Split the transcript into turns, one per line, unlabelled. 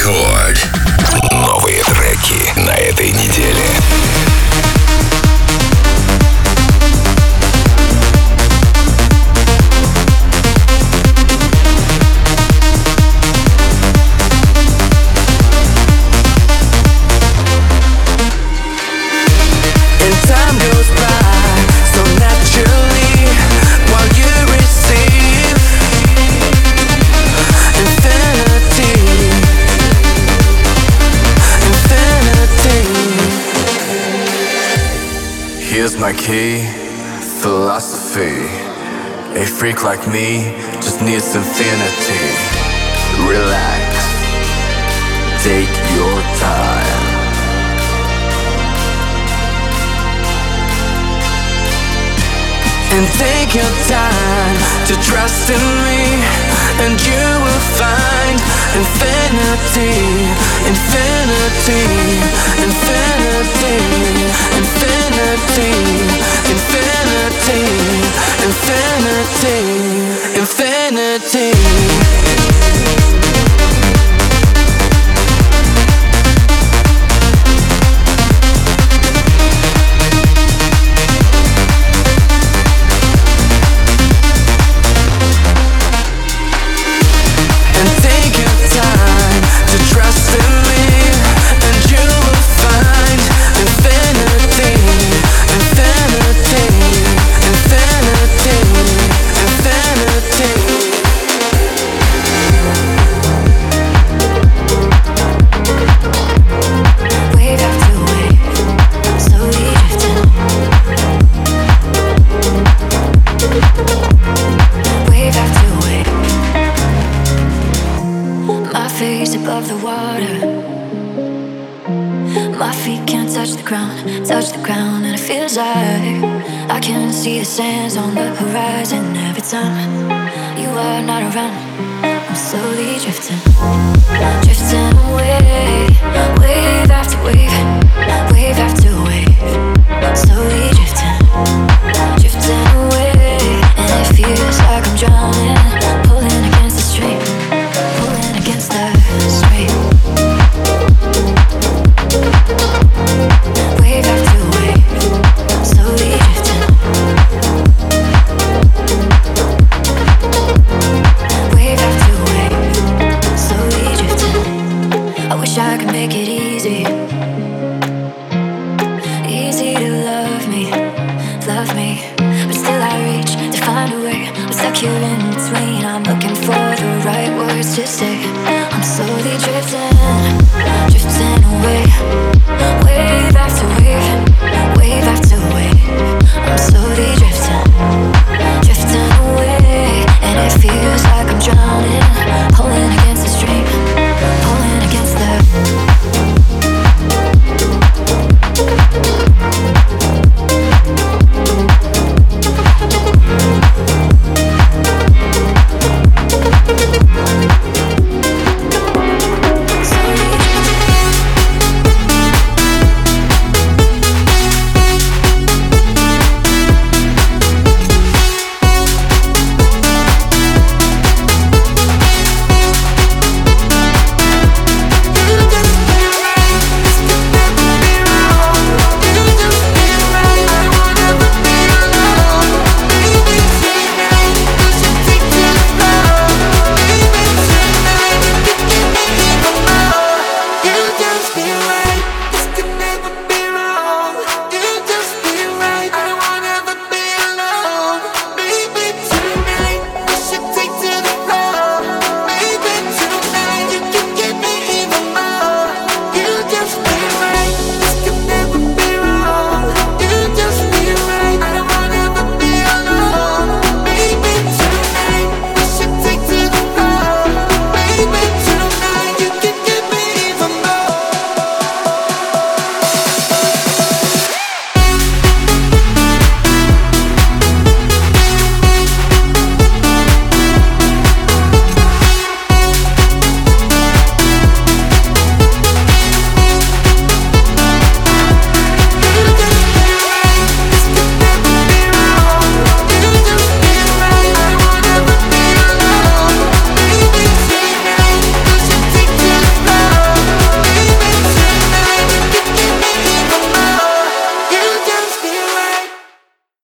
Рекорд. Новые треки на этой неделе.
Here's my key, philosophy. A freak like me just needs infinity. Relax, take your time. And take your time to trust in me, and you will find infinity, infinity, infinity, infinity, infinity, infinity, infinity.
Above the water, my feet can't touch the ground, and it feels like I can see the sands on the horizon. Every time you are not around, I'm slowly drifting, drifting away, wave after wave, wave after wave, slowly drifting, drifting away, and it feels like I'm drowning, pulling against the stream, pulling against the stream. Wave after wave, slowly drifting. Wave after wave, slowly drifting. I wish I could make it easy, easy to love me, but still I reach to find a way. I'm stuck here in between. I'm looking for the right words to say. I'm slowly drifting.